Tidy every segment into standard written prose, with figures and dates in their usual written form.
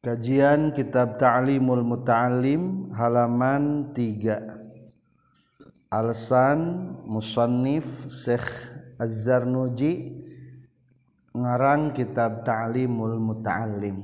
Kajian Kitab Ta'limul Muta'allim halaman 3. Alasan musannif Syekh Az-Zarnuji ngarang Kitab Ta'limul Muta'allim.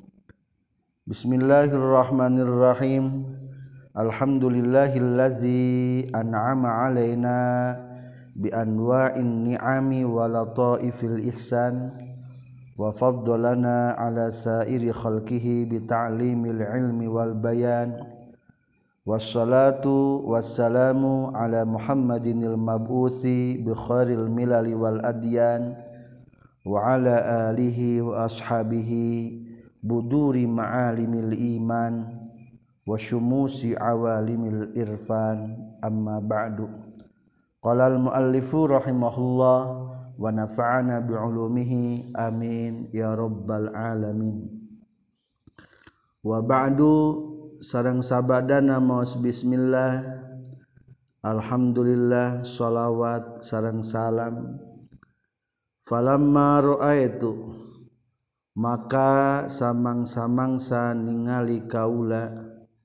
Bismillahirrahmanirrahim. Alhamdulillahillazi an'ama alaina bi anwa'in ni'ami wa lataifil ihsan wa faddalana ala sairi khalqihi bi ta'limil ilmi wal bayan wassalatu wassalamu ala Muhammadinil mab'uthi bi khairil milali wal adyan wa ala alihi wa ashabihi buduri ma'alimil iman wa syumusi awalimil irfan amma ba'du. Qala al muallifu rahimahullah wa nafa'ana bi'ulumihi amin ya rabbal alamin. Wa ba'du sareng sabadana maos bismillah alhamdulillah shalawat sareng salam. Falamma ra'aitu maka samang-samangsa ningali kaula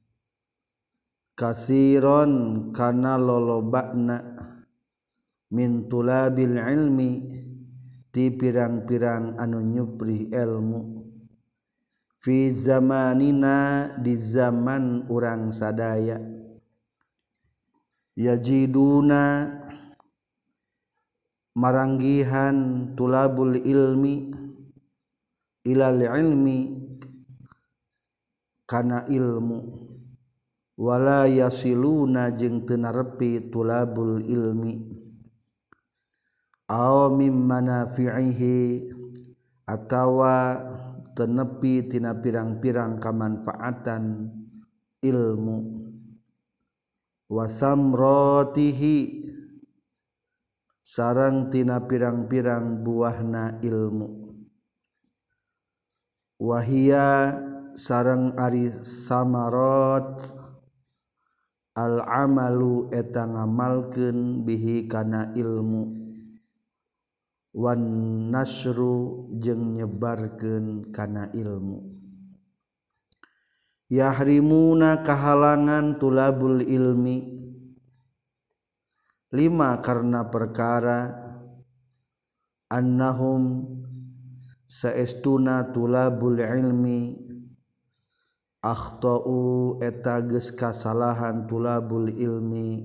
katsiron kana lolobana min tulabil ilmi ti pirang-pirang anu nyupri ilmu fi zamanina di zaman urang sadaya yajiduna maranggihan tulabul ilmi ilal ilmi kana ilmu wala yasiluna jeung teu narepi tulabul ilmi aw mim manafi'ihi atawa tenepi tina pirang-pirang kamanfaatan ilmu wa samratihi sareng tina pirang-pirang buahna ilmu wahia sareng ari samarat al amalu eta ngamalkeun bihi kana ilmu wan nasru jeung nyebarkeun kana ilmu yahrimuna kahalangan tulabul ilmi lima karena perkara annahum saestuna tulabul ilmi akhtau eta geus kasalahan tulabul ilmi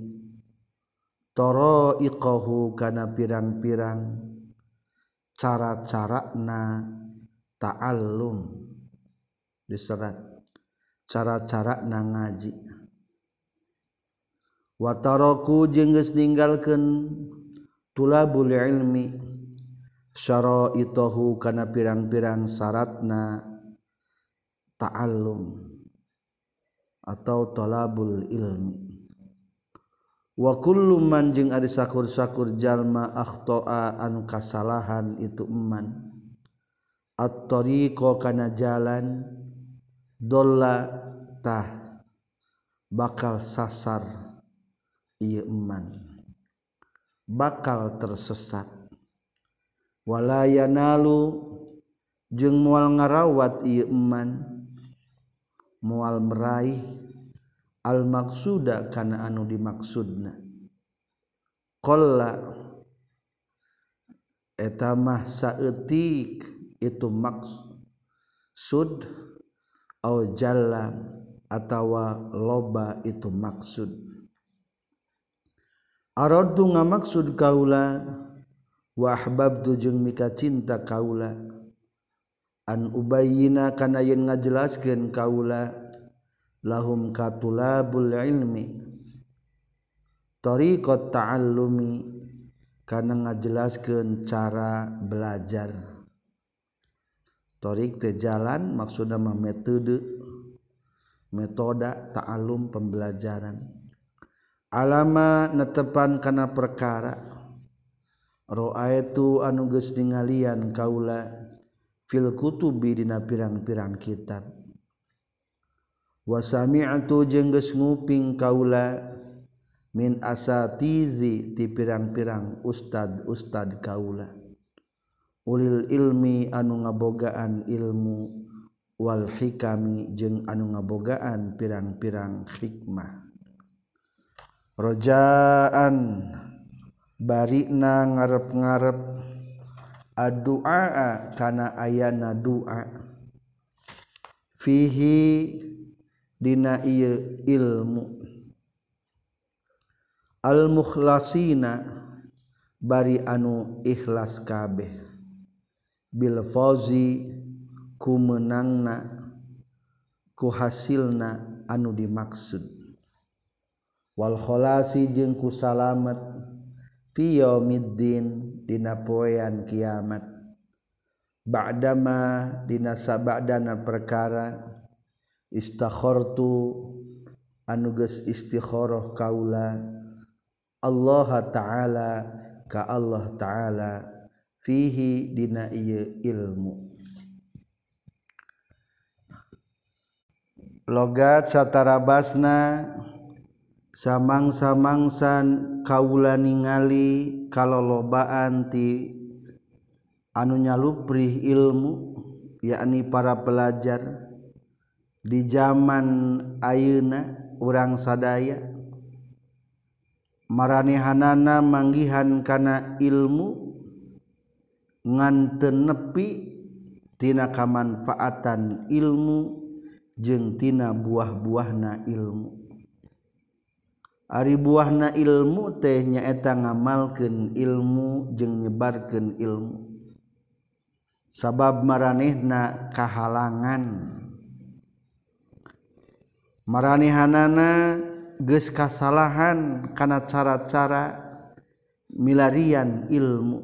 taraiqahu kana pirang-pirang cara-carana ta'allum diserat cara-carana ngaji wa taraku jeung geus ninggalkeun tulabul ilmi syara'itahu kana pirang-pirang syaratna ta'allum atau talabul ilmi wa kullu man jeung ari sakur-sakur jalma akhta'a anu kasalahan itu eman at-tariqa kana jalan dolla tah bakal sasar ieu eman bakal tersesat wala yanalu jeung moal ngarawat ieu eman moal meraih al maqsuda kana anu dimaksudna qalla eta mah saeutik itu maksud au jalla atawa loba itu maksud aradu ngamaksud kaula wa ahbabtu jeung mika cinta kaula an ubayyina kana yen ngajelaskeun kaula lahum katulabul ilmi tariqat ta'allumi kana ngajelaskeun cara belajar tariq teh jalan maksudna mah metoda ta'allum pembelajaran alama netepan kana perkara ra'aitu anu geus ningalian kaula fil kutubi dina pirang-pirang kitab wa sami'tu jeung geus nguping kaula min asatizi ti pirang-pirang ustad kaula ulil ilmi anu ngabogaan ilmu wal hikami jeung anu ngabogaan pirang-pirang hikmah. Rojaan barina ngarep-ngarep addu'a kana ayana du'a fihi dina ieu ilmu al mukhlasina bari anu ikhlas kabeh bil fauzi ku menangna ku hasilna anu dimaksud wal kholasi jeung ku salamet fi yaumiddin dina poean kiamat ba'dama dina sabadana perkara istakhartu anu geus istikharah kaula Allah taala ka Allah taala fihi dina ieu ilmu. Logat satarabasna samang-samangsan kaula ningali kalolobaan ti anu nyaluprih ilmu yakni para pelajar di zaman ayeuna urang sadaya maranehanana manggihan kana ilmu ngan teu nepi tina kamanfaatan ilmu jeung tina buah-buahna ilmu. Ari buahna ilmu teh nyaeta ngamalkeun ilmu jeung nyebarkeun ilmu. Sabab maranehna kahalangan. Maranehanana geus kasalahan kana cara-cara milarian ilmu.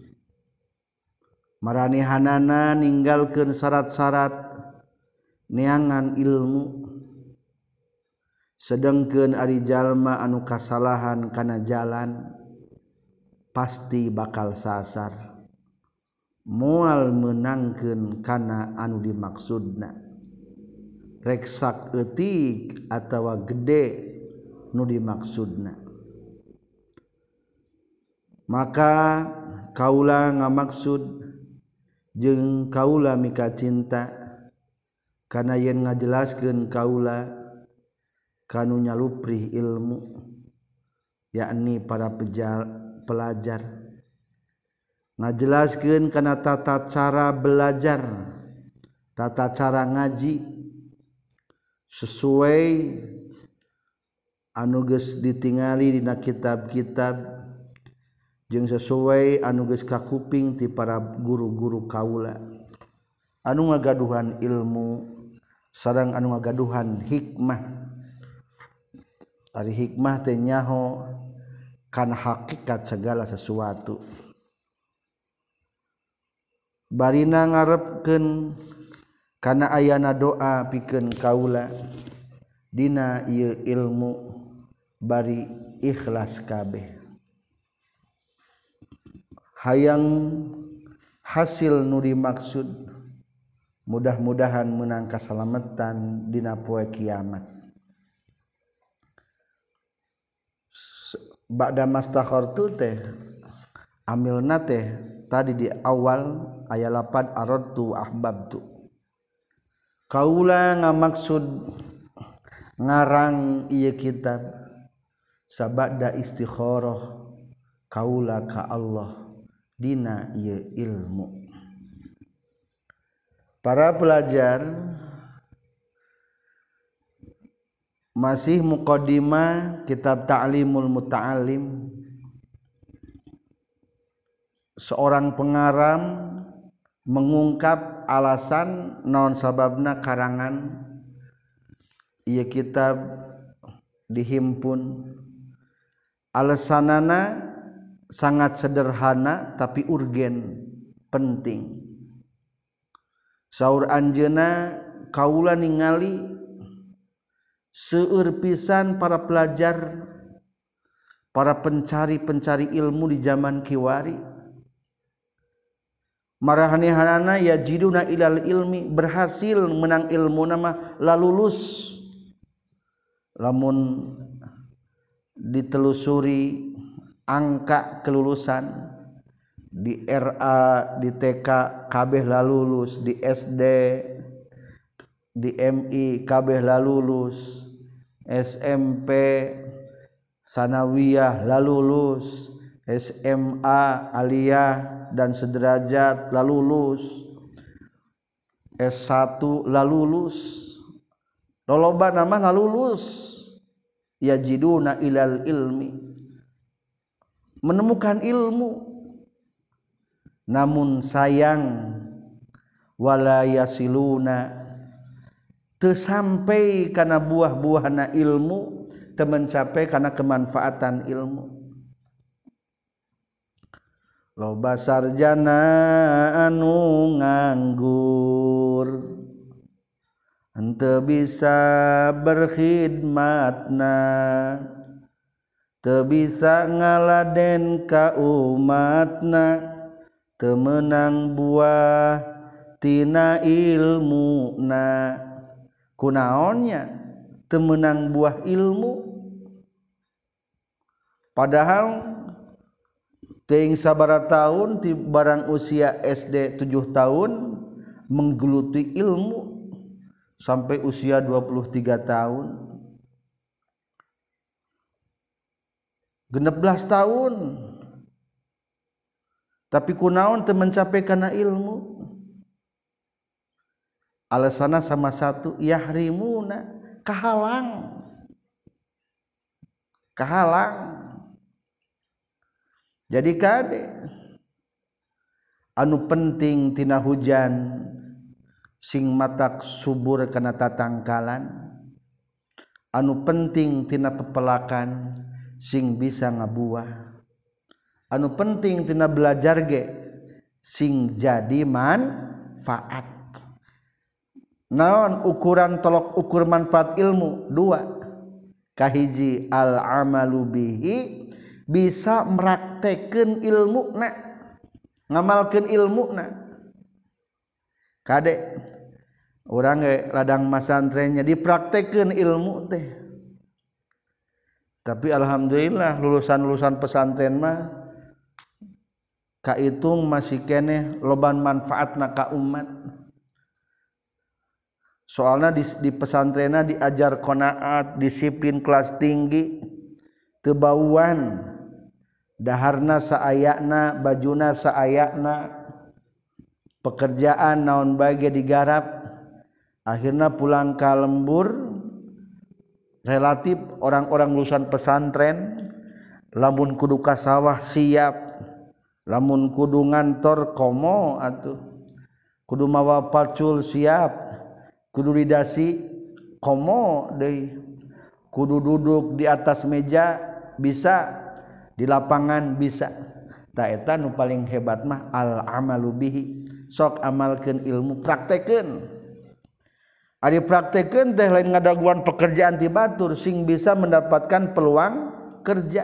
Maranehanana ninggalkeun syarat-syarat neangan ilmu. Sedengkeun ari jalma anu kasalahan kana jalan pasti bakal sasar moal meunangkeun kana anu dimaksudna rek sak eutik atawa gede nu dimaksudna. Maka kaula ngamaksud jeung kaula mika cinta kana yen ngajelaskeun kaula kanu nyaluprih ilmu yakni para pelajar ngajelaskeun kana tata cara belajar tata cara ngaji sesuai anu geus ditingali dina kitab-kitab jeung sesuai anu geus kakuping ti para guru-guru kaula anu ngagaduhan ilmu sareng anu ngagaduhan hikmah. Ari hikmah teh nyaho kana hakikat segala sesuatu. Barina ngarepkeun kana ayana doa pikeun kaula dina ieu ilmu bari ikhlas kabeh. Hayang hasil nu dimaksud mudah-mudahan meunang kasalametan dina poe kiamat. Ba'da mastakhartu teh amilna teh tadi di awal aya lapad aradtu ahbabtu kaula ngamaksud ngarang ieu kitab sabada istikharah kaula ka Allah dina ieu ilmu. Para pelajar masih muqaddimah kitab Ta'limul Muta'allim. Seorang pengarang mengungkap alasan naon sababna karangan ieu kitab dihimpun. Alasanana sangat sederhana tapi urgen, penting. Saur anjeunna kaula ningali seueur pisan para pelajar, para pencari ilmu di zaman kiwari. Marahanehanana yajiduna ilal ilmi, berhasil menang ilmu nama lalulus. Lamun ditelusuri angka kelulusan di RA, di TK kabeh lalulus, di SD di MI kabeh lalulus, SMP sanawiyah lalulus, SMA aliyah dan sederajat lalulus, S1 lalulus, loloba nama lalulus, yajiduna ilal ilmi, menemukan ilmu, namun sayang wala yasiluna teu sampai kana buah-buahna ilmu, teu mencapai kana kemanfaatan ilmu. Loba sarjana anu nganggur henteu bisa berkhidmatna, teu bisa ngaladen ka umatna, teu meunang buah tina ilmuna. Kunaonnya teu meunang buah ilmu, padahal teuing sabaraha taun ti barang usia SD 7 tahun menggeluti ilmu sampai usia 23 tahun, 16 tahun, tapi kunaon teu mencapai kana ilmu. Alasana sama satu, yahrimuna, kahalang. Jadi kade anu penting tina hujan sing matak subur kana tatangkalan, anu penting tina pepelakan sing bisa ngabuah, anu penting tina belajar ge sing jadi manfaat. Naon ukuran tolok ukur manfaat ilmu? 2. Kahiji al amalu bihi, bisa meraktekeun ilmuna, ngamalkeun ilmuna. Kade urang ge ladang masantrennya dipraktekeun ilmu teh. Tapi alhamdulillah lulusan-lulusan pesantren mah kaitung masih keneh loban manfaatna ka umat. Soalnya di pesantrenna diajar qanaat, disiplin kelas tinggi, teu bauan, daharna saayana, bajuna saayana, pekerjaan naon bae ge digarap, akhirna pulang ka lembur. Relatif orang-orang lulusan pesantren lamun kudu ka sawah siap, lamun kudu ngantor komo atuh, kudu mawa pacul siap, kudu didasi komo deui, kudu duduk di atas meja bisa, di lapangan bisa. Ta eta nu paling hebat mah al amalu bihi, sok amalkeun ilmu, praktekeun. Ari praktekeun teh lain ngadaguan pekerjaan ti batur, sing bisa mendapatkan peluang kerja.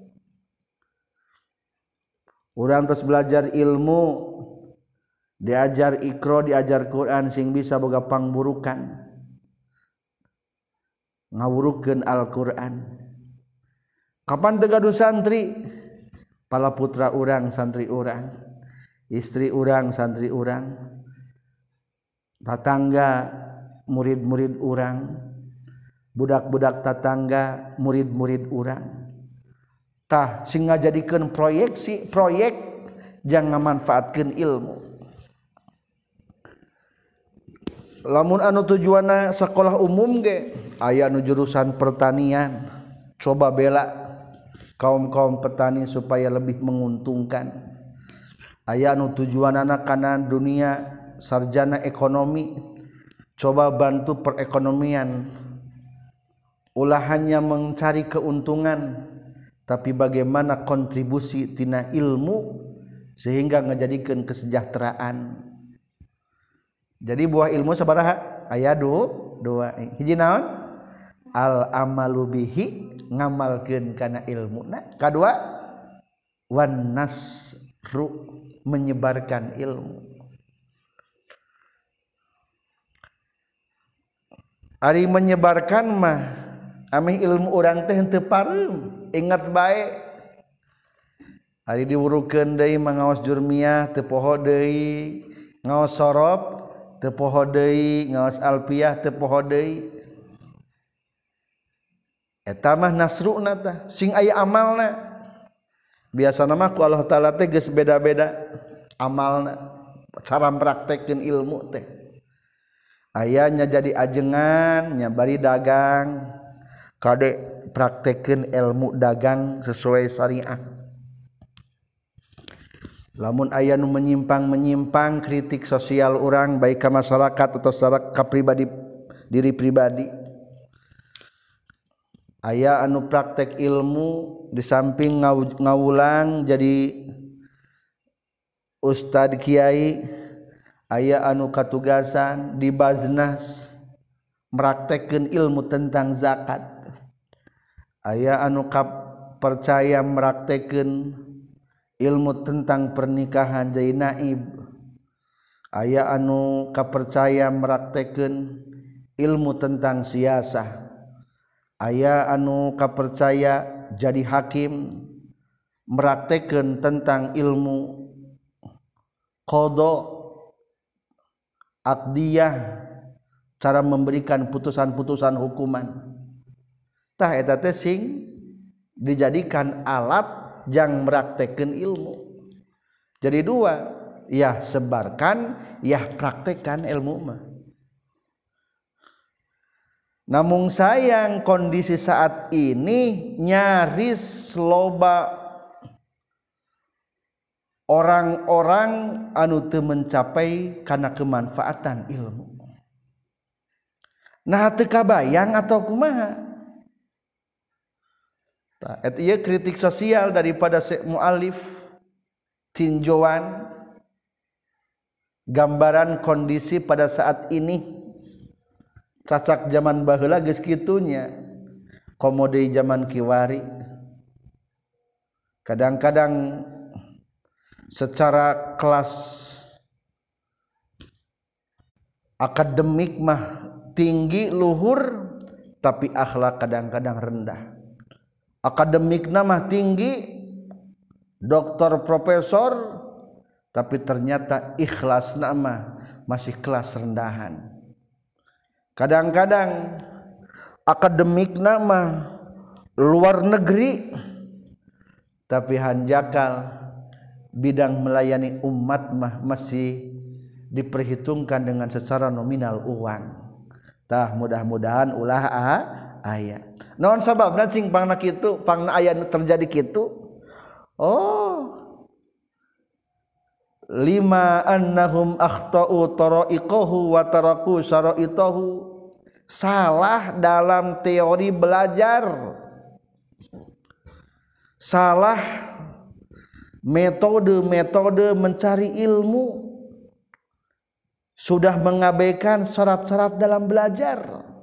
Urang tos belajar ilmu, diajar Iqra, diajar Quran, sing bisa boga pangburukan, ngawurukeun Al-Quran. Kapan teu gaduh santri? Pala putra urang santri urang, istri urang santri urang, tatangga murid-murid urang, budak-budak tatangga murid-murid urang. Tah sing ngajadikeun proyek jangan manfaatkeun ilmu. Lamun anu tujuanna sekolah umum ge aya nu jurusan pertanian, coba bela kaum-kaum petani supaya lebih menguntungkan. Aya nu tujuanna kana dunia sarjana ekonomi, coba bantu perekonomian. Ulah hanya mencari keuntungan, tapi bagaimana kontribusi tina ilmu sehingga ngajadikeun kesejahteraan. Jadi buah ilmu sabaraha? Aya 2. Hiji naon? Al amalu bihi, ngamalkeun kana ilmuna. Kadua, wan nasru, menyebarkan ilmu. Ari menyebarkan mah ameh ilmu urang teh henteu pareum, ingat bae. Ari diwurukeun deui mangaos jurmiyah teu poho deui, ngaos sorop teu poho deui ngaos alfiah teu poho deui eta mah nasruna tah sing aya amalna biasana mah ku Allah taala teh geus beda-beda amalna cara praktekkeun ilmu teh aya nya jadi ajengan nya bari dagang kade praktekkeun ilmu dagang sesuai syariah lamun aya nu menyimpang kritik sosial urang baik ka masyarakat atau secara ka pribadi diri pribadi aya anu praktek ilmu di samping ngawulang jadi ustad kiai aya anu katugasan di Baznas meraktekkeun ilmu tentang zakat aya anu percaya meraktekkeun ilmu tentang pernikahan jadi naib aya anu kapercaya meraktekkeun ilmu tentang siasah aya anu kapercaya jadi hakim meraktekkeun tentang ilmu qada aqdiyah cara memberikan putusan-putusan hukuman tah eta teh sing dijadikan alat jang meraktekkeun ilmu jadi dua ya sebarkan ya praktekkan ilmu mah namun sayang kondisi saat ini nyaris loba orang-orang anu teu mencapai kana kemanfaatan ilmu. Nah teu kabayang atau kumaha? Tah eta ieu kritik sosial daripada muallif tinjauan gambaran kondisi pada saat ini. Cacak zaman baheula geus kitunya komo deui zaman kiwari kadang-kadang secara kelas akademik mah tinggi luhur tapi akhlak kadang-kadang rendah akademikna mah tinggi doktor profesor tapi ternyata ikhlasna mah masih kelas rendahan kadang-kadang akademikna mah luar negeri tapi hanjakal bidang melayani umat mah masih diperhitungkan dengan secara nominal uang tah mudah-mudahan ulah aya naon sababna cing pangna kitu pangna aya terjadi kitu lima annahum akhtau tara'iqahu wa taraku syara'itahu salah dalam teori belajar salah metode mencari ilmu sudah mengabaikan syarat-syarat dalam belajar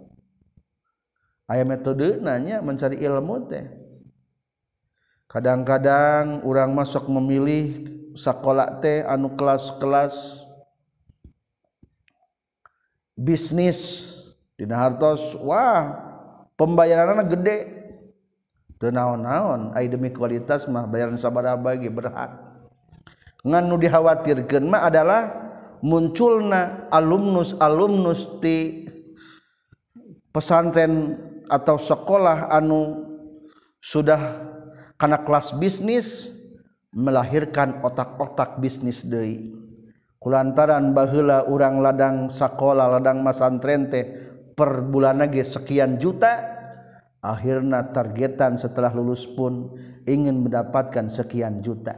aya metode nanya mencari ilmu teh kadang-kadang urang masuk memilih sakola teh anu kelas-kelas bisnis dina hartos wah pembayaranna gede teu naon-naon ai demi kualitas mah bayaran sabaraha ge berhak ngan nu dikhawatirkeun mah adalah munculna alumnus ti pesantren atau sekolah anu sudah kana kelas bisnis melahirkan otak-otak bisnis deui kulantaran baheula urang ladang sakola ladang masantren teh per bulanna ge sekian juta akhirna targetan setelah lulus pun ingin mendapatkan sekian juta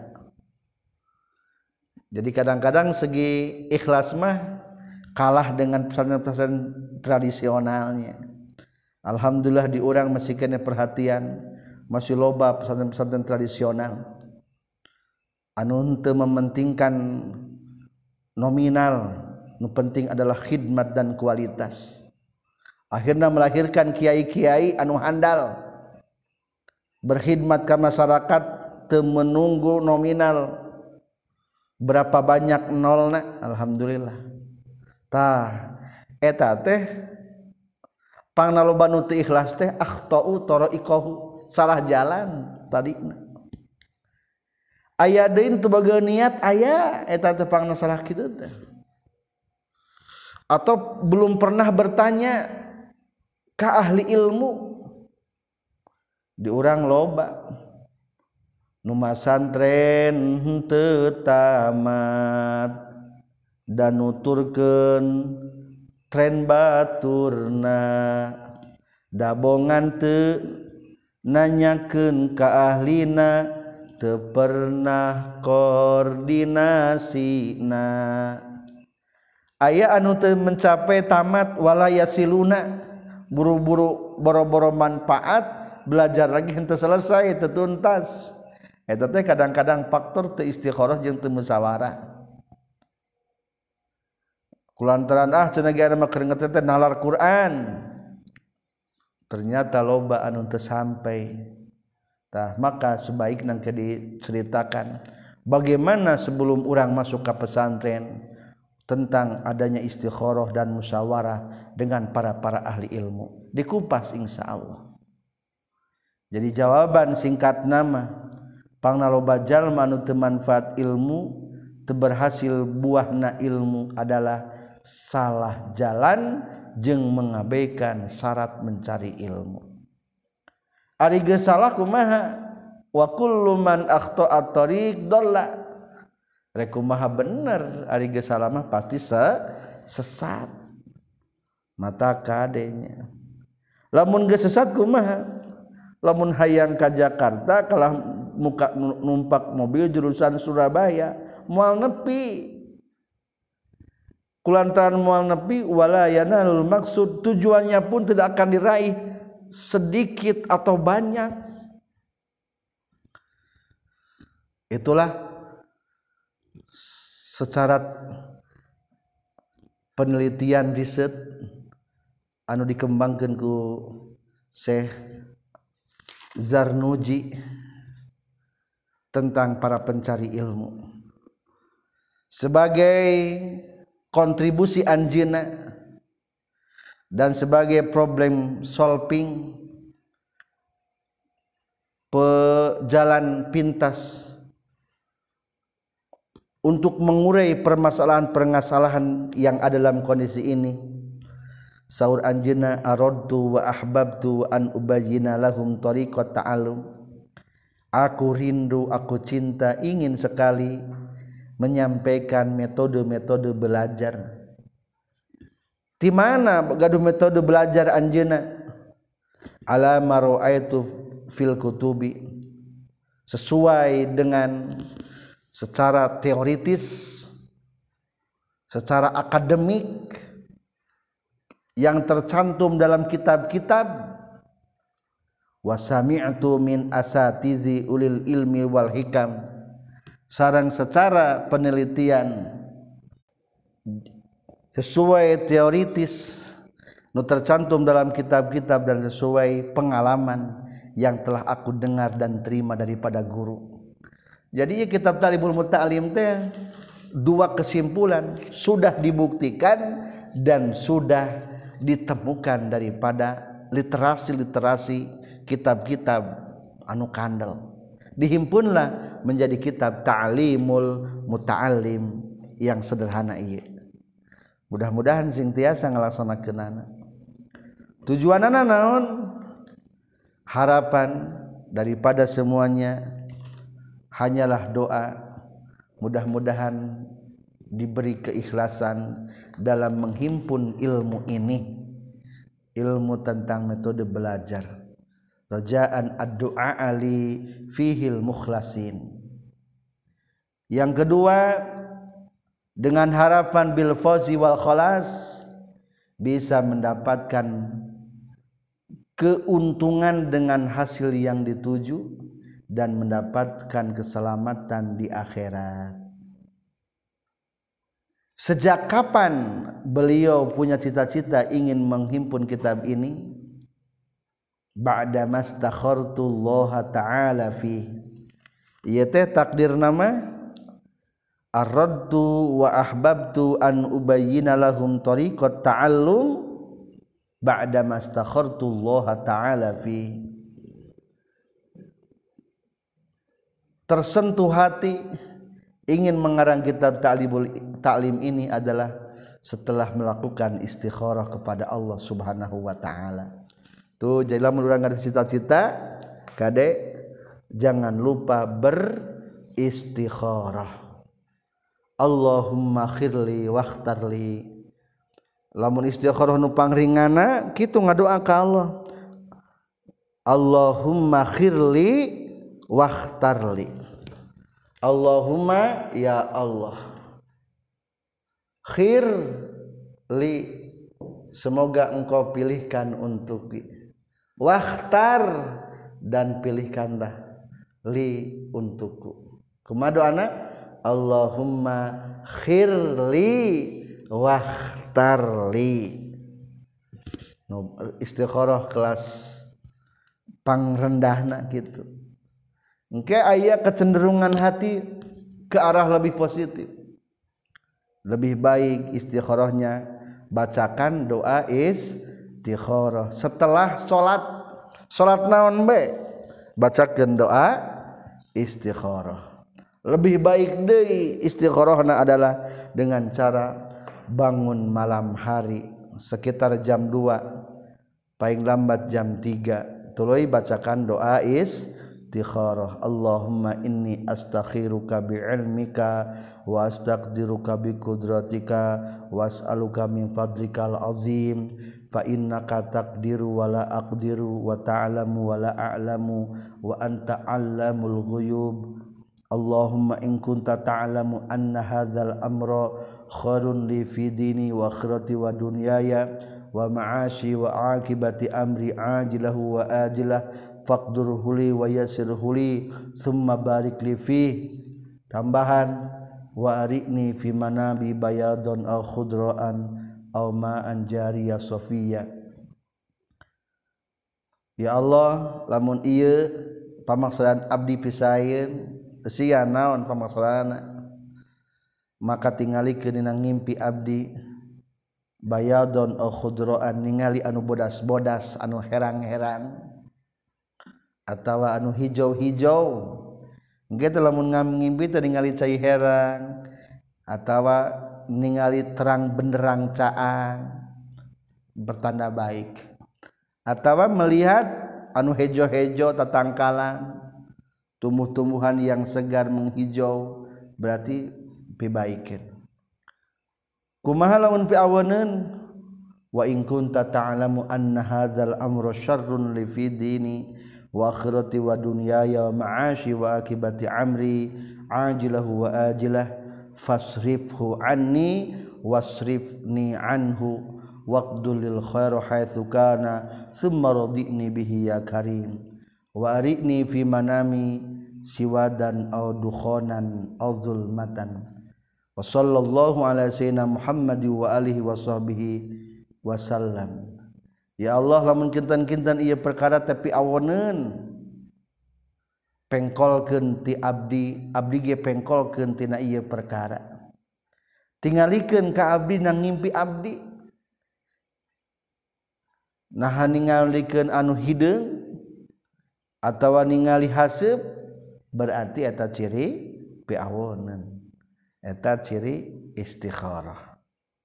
jadi kadang-kadang segi ikhlas mah kalah dengan pesantren-pesantren tradisionalnya alhamdulillah di urang masih kena perhatian masih loba pesantren-pesantren tradisional anu teu mementingkan nominal nu penting adalah khidmat dan kualitas akhirnya melahirkan kiai-kiai anu handal berkhidmat ke masyarakat teu menunggu nominal berapa banyak nolna alhamdulillah tah eta teh pangna loba nu teu ikhlas teh akhtau tara'iqahu salah jalan tadina aya deui teu bageun niat aya eta teh pangna salah kitu teh atau belum pernah bertanya ke ahli ilmu. Di urang loba nu masantren teu tamat dan nuturkeun tren baturna dabongan teu nanyakeun ka ahlina teu pernah koordinasina. Aya anu teu mencapai tamat wala yasiluna, buru-buru boro-boro manfaat, belajar lagi henteu selesai teu tuntas. Eta teh kadang-kadang faktor teu istikharah jeung teu musyawarah. Kulantaran cenah ge anu keur ngeteh nalar Quran, ternyata loba anu teu sampai. Tah maka sebaikna ke diceritakan bagaimana sebelum urang masuk ke pesantren tentang adanya istikharah dan musyawarah dengan para ahli ilmu. Dikupas insyaallah. Jadi jawaban singkat nama pangna loba jalma anu teu manfaat ilmu, teu berhasil buahna ilmu adalah salah jalan jeung mengabaikan syarat mencari ilmu. Ari geus salah kumaha? Wa kullu man akhta'a tariq dhalla. Rek kumaha bener ari geus salah mah pasti sesat. Mata kadenya. Lamun geus sesat kumaha? Lamun hayang ka Jakarta kalah muka numpak mobil jurusan Surabaya moal nepi. Kulantaran moal nepi wala yanalul maksud, tujuannya pun tidak akan diraih sedikit atau banyak. Itulah secara penelitian riset anu dikembangkeun ku Syekh Zarnuji tentang para pencari ilmu sebagai kontribusi anjeunna dan sebagai problem solving, pejalan pintas untuk mengurai permasalahan yang ada dalam kondisi ini. Saur anjeunna aradtu wa ahbabtu an ubayyina lahum tariqat ta'allum. Aku rindu, aku cinta, ingin sekali menyampaikan metode-metode belajar. Di mana gaduh metode belajar anjeunna? Ala mara'aitu fil kutubi, sesuai dengan secara teoritis, secara akademik yang tercantum dalam kitab-kitab. Wa sami'tu min asatizi ulil ilmi wal hikam, sareng secara penelitian sesuai teoritis nu tercantum dalam kitab-kitab dan sesuai pengalaman yang telah aku dengar dan terima daripada guru. Jadi kitab Talibul Muta'alim teh dua kesimpulan sudah dibuktikan dan sudah ditemukan daripada literasi-literasi kitab-kitab anu kandel. Dihimpunlah menjadi kitab Ta'limul Muta'alim yang sederhana ieu. Mudah-mudahan sing tiasa ngalaksanakeunana. Tujuanana naon? Harapan daripada semuanya hanyalah doa. Mudah-mudahan diberi keikhlasan dalam menghimpun ilmu ini, ilmu tentang metode belajar. Rajaan ad-du'a ali fihil mukhlasin. Yang kedua, dengan harapan bil fawzi wal khalas, bisa mendapatkan keuntungan dengan hasil yang dituju dan mendapatkan keselamatan di akhirat. Sejak kapan beliau punya cita-cita ingin menghimpun kitab ini? Ba'da mastakhartullaha ta'ala fi. Ieu teh takdir nama aradtu wa ahbabtu an ubayyina lahum tariqat ta'allum ba'da mastakhartullaha ta'ala fi. Tersentuh hati ingin mengarang kitab Ta'lim ini adalah setelah melakukan istikharah kepada Allah Subhanahu wa taala. Tuh jadi lamun urang ada cita-cita kade jangan lupa beristikharah. Allahumma khirli wakhtarli. Lamun istikharah nu pangringana kitu ngadoa ka Allah. Allahumma khirli wakhtarli. Allahumma ya Allah khir li semoga engkau pilihkan untukku wakhtar dan pilihkanlah li untukku kumaha doana Allahumma khir li wakhtar li istikharah kelas pangrendahna gitu engke aya kecenderungan hati ke arah lebih positif. Lebih baik istikharahnya bacakan doa istikharah setelah salat naon be bacakeun doa istikharah. Lebih baik deui istikharahna adalah dengan cara bangun malam hari sekitar jam 2 paling lambat jam 3 tuluy bacakan doa istikharah. Allahumma inni astakhiruka bi'ilmika wa astaqdiruka biqudratika was'aluka min fadlikal azim fa innaka taqdiru wa la aqdiru wa ta'lamu wa la a'lamu wa anta 'allamul ghuyub. Allahumma in kunta ta'lamu anna hadzal amra khairun li fi dini wa akhirati wa dunyaya wa ma'ashi wa aqibati amri ajilahu wa ajilah faqdurhu li wa yassirhu li thumma barik li fi tambahan wa arikni fi manabi bayadun aw khudraan aw ma'an jariyah safiyya. Ya Allah lamun ieu pamaksaan abdi pisaeun sia naon pamaksana maka tingalikeun dina ngimpi abdi bayadun aw khudraan ningali anu bodas-bodas anu herang-herang atawa anu hijau-hijau engke teh lamun ngimpi teh ningali cai herang atawa ningali terang benderang caang bertanda baik atawa melihat anu hejo-hejo tatangkalan tumbuh-tumbuhan yang segar menghijau berarti pibaikeun kumaha lamun piaweneun wa in kunta ta'lamu anna hadzal amra syarrun li fi dini wa akhirati wa dunyaya wa ma'ashi wa akibati amri ajilahu wa ajilah fasrifhu anni wasrifni anhu waqdulil khairu haitsu kana thumma radini bihi ya karim wa arikni fi manami siwadan aw dukhanan aw zulmatan wa sallallahu ala sayyidina Muhammad wa alihi wa sahbihi wasallam. Ya Allah lamun kinten-kinten ieu perkara tapi awoneun pengkolkeun ti abdi ge pengkolkeun tina ieu perkara tingalikeun ka abdi nang ngimpi abdi nah ningalikeun anu hideung atawa ningali haseup berarti eta ciri piawoneun eta ciri istikharah.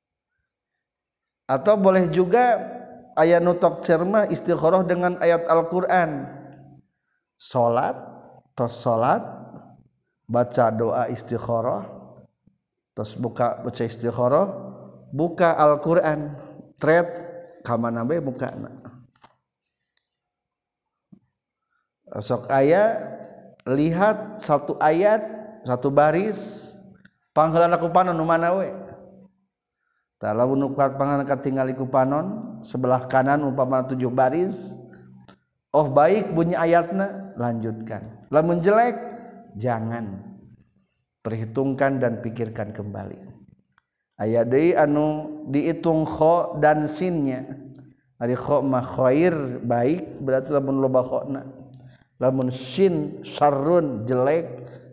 Atau boleh juga aya nu tok cermah istikharah dengan ayat Al-Qur'an. Salat baca doa istikharah terus baca istikharah buka Al-Qur'an thread ka mana bae bukana. Sok aya lihat satu ayat satu baris pangheulana ku panon nu mana we tah lamun nu pangan katingali ku panon sebelah kanan umpama 7 baris oh baik bunyi ayatna lanjutkan lamun jelek jangan perhitungkan dan pikirkan kembali aya deui anu diitung kha dan sinnya ari kha mah khair baik berarti lamun loba khana lamun sin syarrun jelek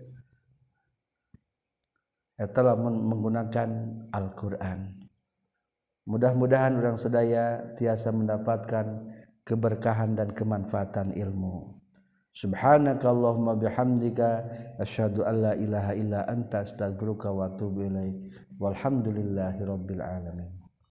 eta lamun menggunakan Al-Qur'an. Mudah-mudahan urang sedaya tiasa mendapatkan keberkahan dan kemanfaatan ilmu. Subhanakallahumma bihamdika asyhadu an la ilaha illa anta astaghfiruka wa atubu ilaik. Walhamdulillahirabbil alamin.